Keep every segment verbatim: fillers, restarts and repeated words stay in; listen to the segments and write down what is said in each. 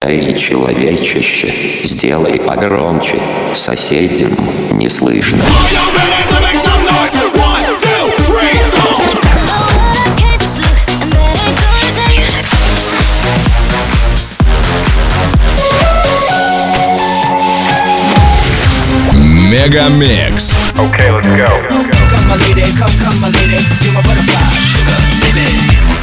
Эй, человечище, сделай погромче, соседям не слышно. Мегамикс. Okay, let's go. Come my lady, come, come my lady, you're my butterfly, sugar, baby.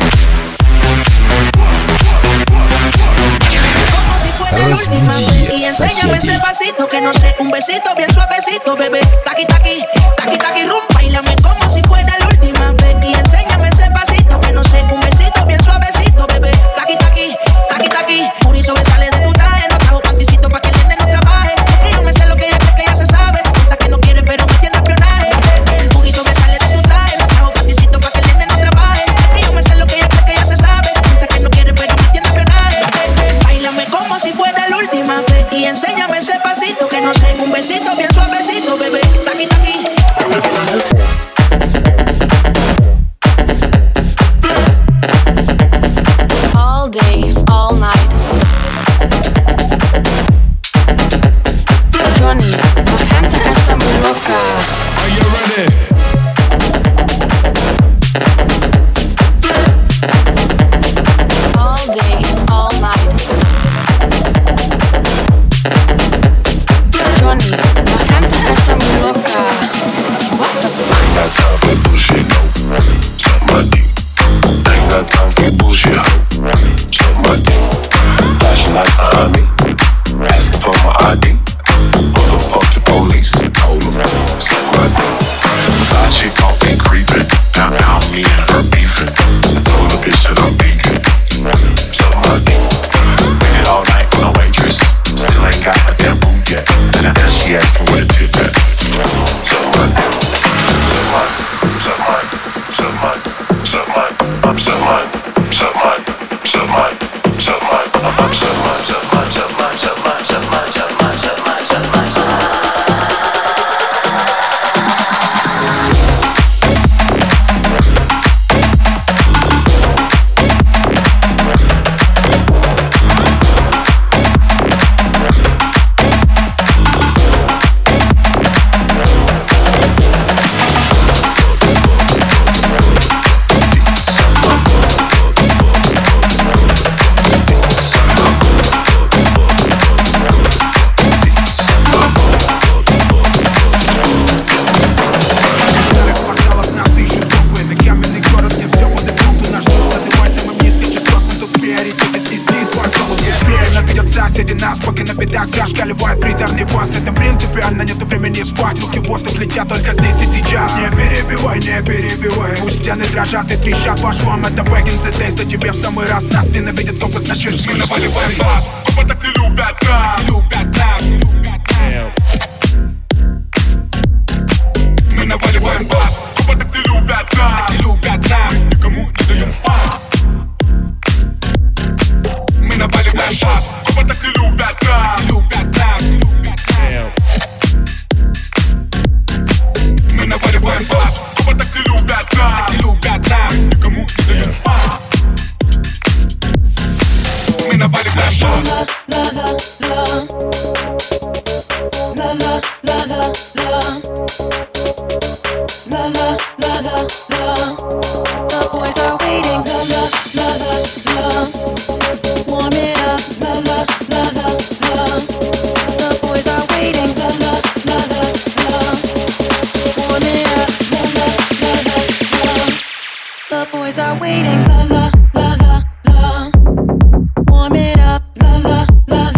Разбуди соседей. Que no sé, un besito bien suavecito, bebé. Taqui, taqui, taqui, taqui, rum. Báilame como si fuera la última vez. Y enséñame ese pasito, que no sé, un besito bien suavecito, bebé. Taqui, taqui, taqui, taqui. Puri sobresale de tu traje. No trajo panticito pa' que el nene no trabaje. Que yo me sé lo que ella cree que ya se sabe. Hasta que no quiere, pero me tiene espionaje. El puri sobresale de tu traje. No trajo panticito pa' que el nene no trabaje. Que yo me sé lo que ella cree que ya se sabe. Hasta que no quiere, pero me tiene espionaje. Báilame como si fuera la última vez. Y enséñame ese pasito, que no sé, un besito bien suavecito, bebé. Taqui, taqui. All day, all night. Johnny, la gente está muy loca. Are you ready? All day, all night. Johnny, la gente está muy loca. What the fuck? Ain't got time for bullshit, no. Suck my dick. Ain't got time for bullshit, ho. Suck my dick. Flashing lights behind me. Asking for my I D. Motherfuck the police. Told them. Suck my dick. Side chick off me creeping. Down, down me and her beefing. I told the bitch that I'm vegan. Suck my dick. Waited all night on a waitress. Still ain't got my damn food yet. And I guess she asking where the tip at. Suck my dick. Suck mine, suck mine, suck mine, I'm suck mine, suck mine, suck mine, suck mine, I'm suck mine, suck mine, suck mine, suck mine, suck mine, suck mine, suck mine, suck mine, suck mine. Соседи нас, пока на бедах зашкаливает приторный бас. Это принципиально, нету времени спать. Руки в воздух летят только здесь и сейчас. Не перебивай, не перебивай. Пусть стены дрожат и трещат. Ваш вам это back in the days. Да тебе в самый раз нас ненавидят, компас на щечки. Мы наваливаем бас. Копа так не любят нас. Не любят нас, не любят нас. Мы наваливаем бас. Копа так не любят нас. Не любят нас. Никому не даем спать. Мы наваливаем бас. Копа так не любят нас. Не любят нас, не любят нас. Мы наваливаем бас. Копа так не любят нас. Не любят нас. Никому не даем спать. Мы наваливаем бас. La la la la la la la la la la la la la. The boys are waiting. La la la la la. Warm it up. La la la la la. The boys are waiting. La la la la la. Warm it up. La la la la la. The boys are waiting. La la la la la. Warm it up. La la la la.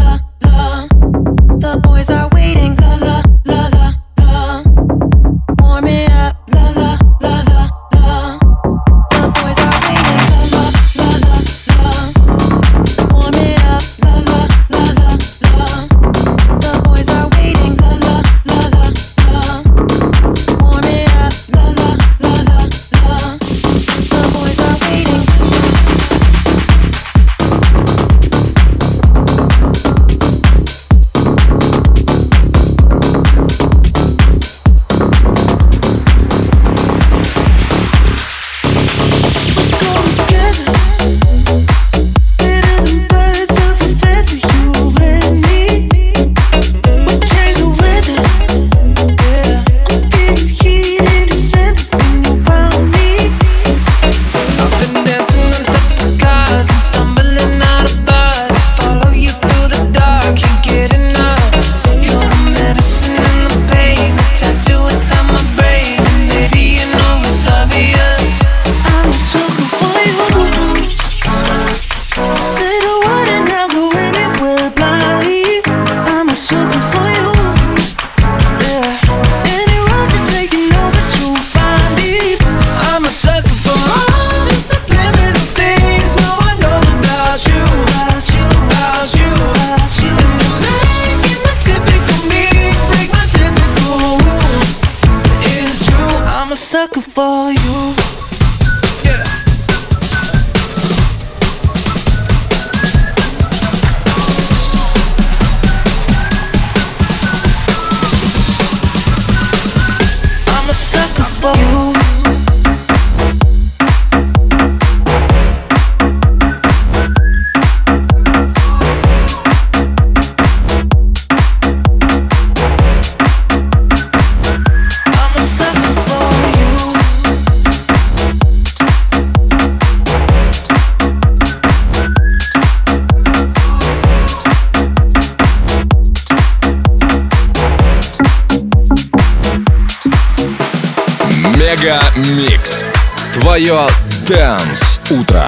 sucker for you. I'm a sucker for you. Мега Микс. Твое Dance утро.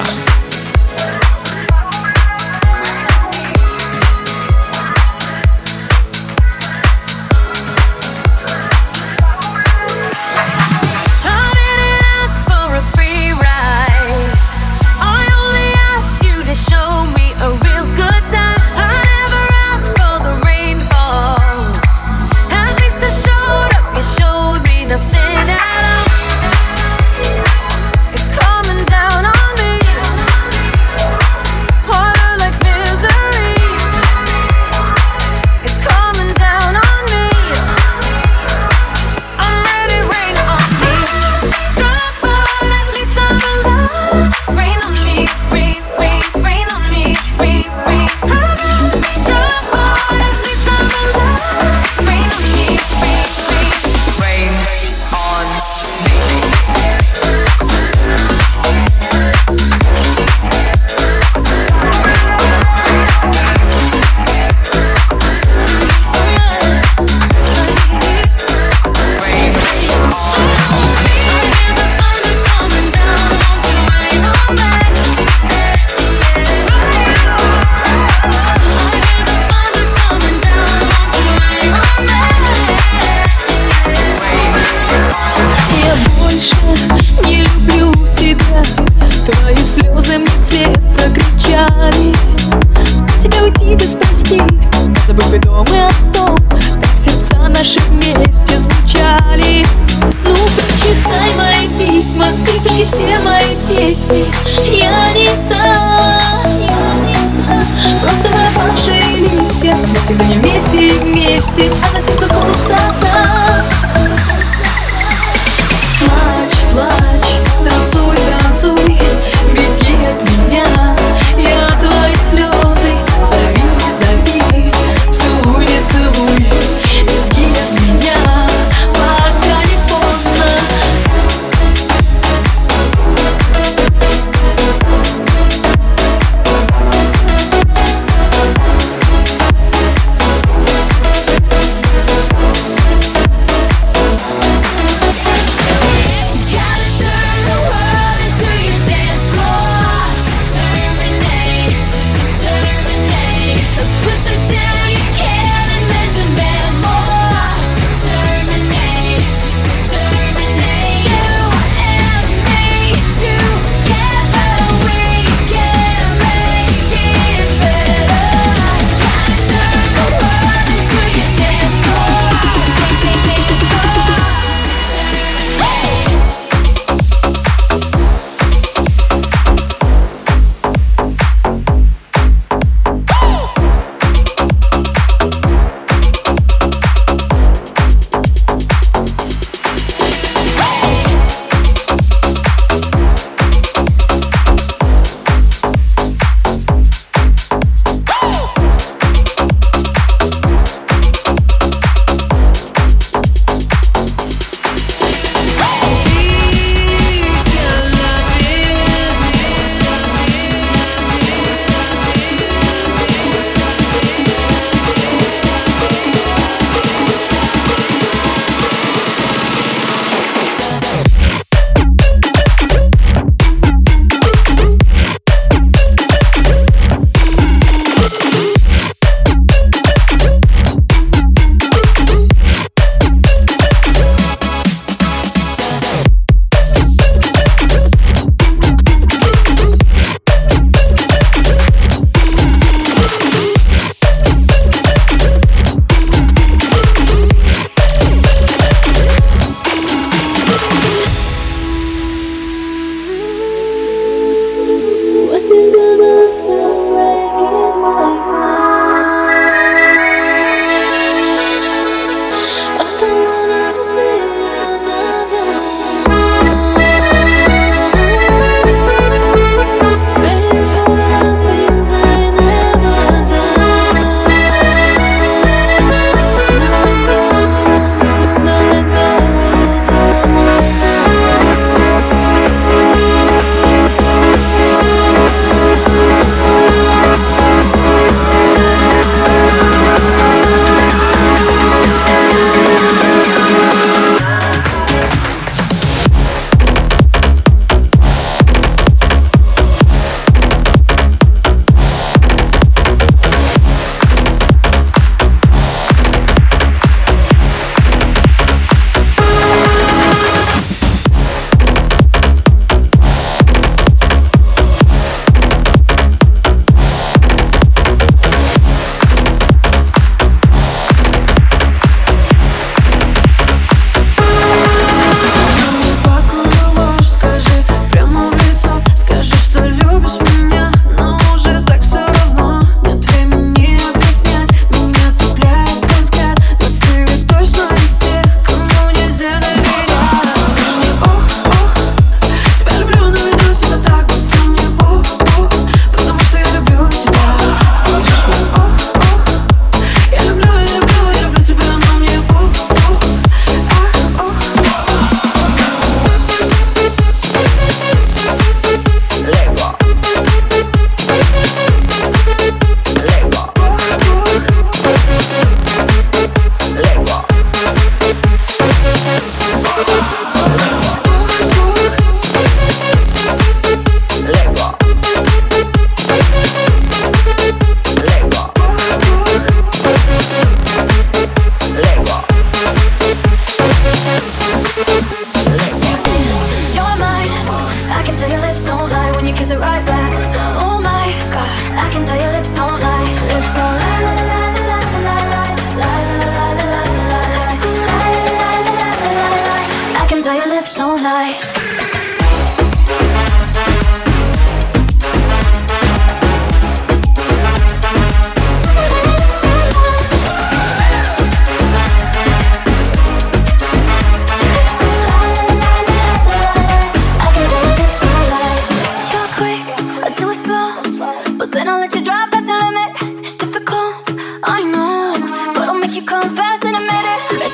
Все мои песни, я не та, я не та. Просто мы опавшие листья, навсегда не вместе, вместе, а на земле пустота. Плачь, плачь, танцуй, танцуй, беги от меня, я твои слезы, зови, зови, целуй, не целуй, беги от меня, пока не поздно.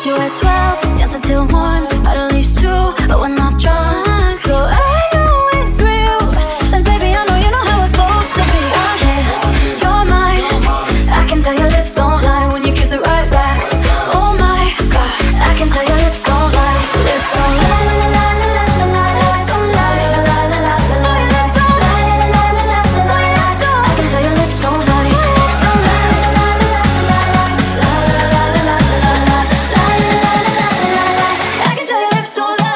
you at twelve, dancing till one, at least two, but we're not drunk. So I know it's real, then baby I know you know how it's supposed to be. One hit, you're mine, I can tell your lips don't lie when you kiss it right back. Oh my God, I can tell your lips don't lie, lips don't lie. La la la la la la la, don't lie. La la la la la la la, don't lie. La la la la la la la, I can tell your lips don't lie, lips don't lie. La la la la la la, la la la la la, la la la la la, I can tell your lips don't lie.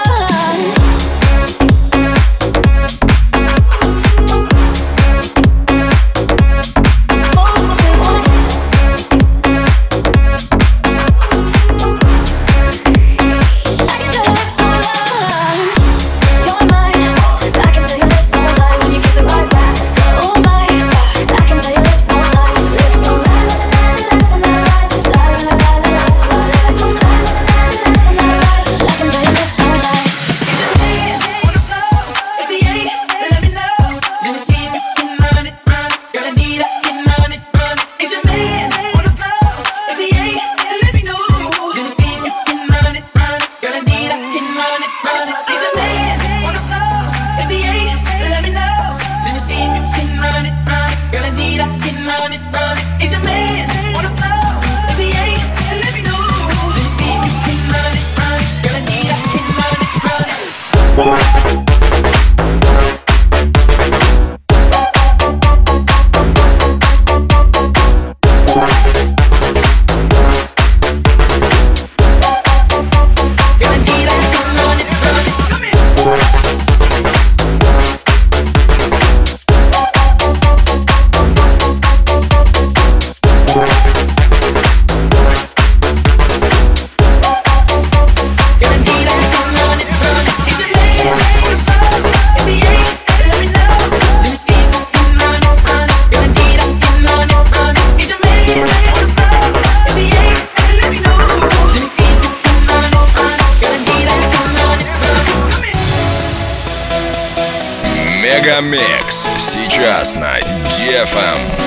Мегамикс сейчас на ди эф эм.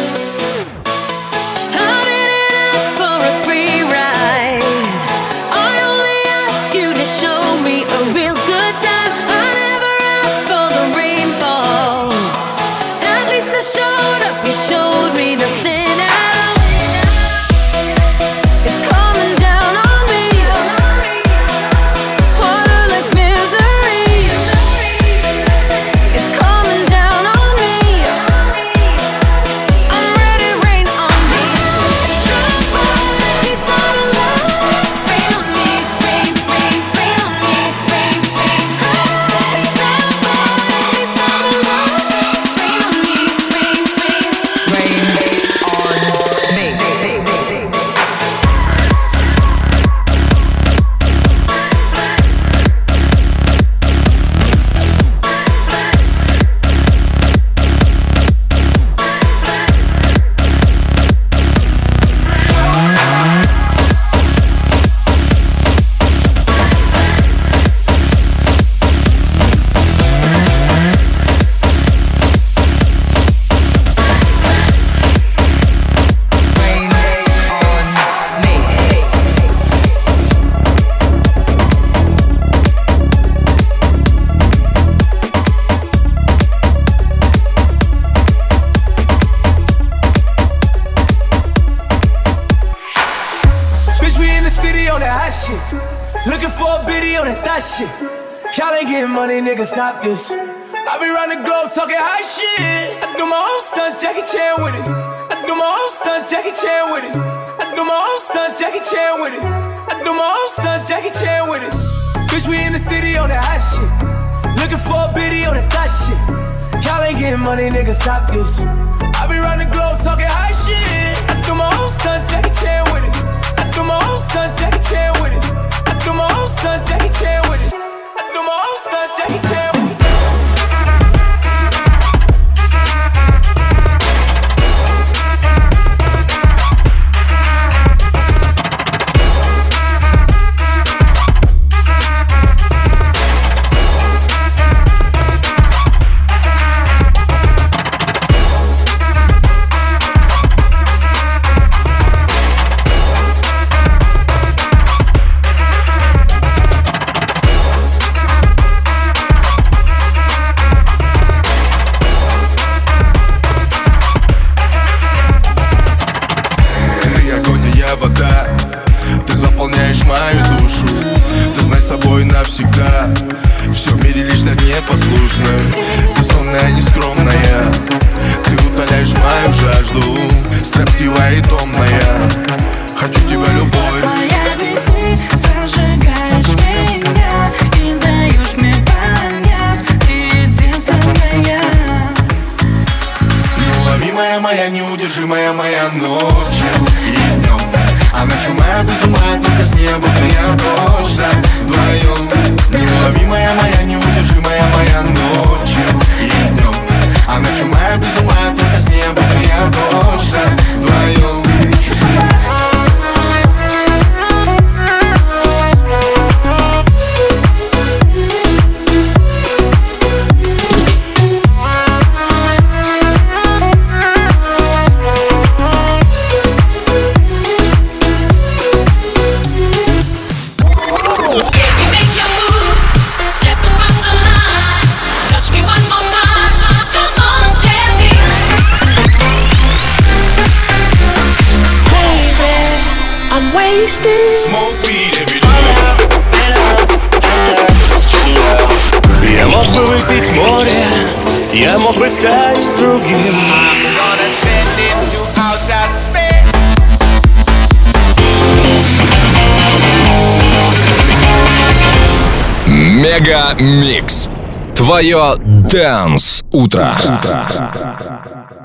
Stop this. I be round the globe talking high shit. I do my own stunts, Jackie Chan with it. I do my own stunts, Jackie Chan with it. I do my own stunts, Jackie Chan with it. I do my own stunts, Jackie Chan with it. Bitch, we in the city on that hot shit. Looking for a biddy on that thot shit. Y'all ain't getting money, nigga, stop this. I be round the globe talking high shit. I do my own stunts, Jackie Chan with it. I do my own stunts, Jackie Chan with it. I do my own stunts, Jackie Chan with it. I do my own stunts, Jackie Chan with it. моя вода. Ты заполняешь мою душу. Ты знай, с тобой навсегда. Все в мире лишь для непослушных. Ты сонная, нескромная. Ты утоляешь мою жажду. Строптивая и томная. Хочу тебя, любовь. Моя ведь ты зажигаешь меня и даешь мне понять, ты единственная. Неуловимая моя, неудержимая моя ночью и днем. А ночью моя без ума, только с неба ты я точно вдвоем. Неуловимая моя, неудержимая моя ночью и днем. А ночью моя без ума, только с неба ты я точно вдвоем. Я мог бы выпить море, я мог бы стать другим. Мега Микс. Твое Dance утро.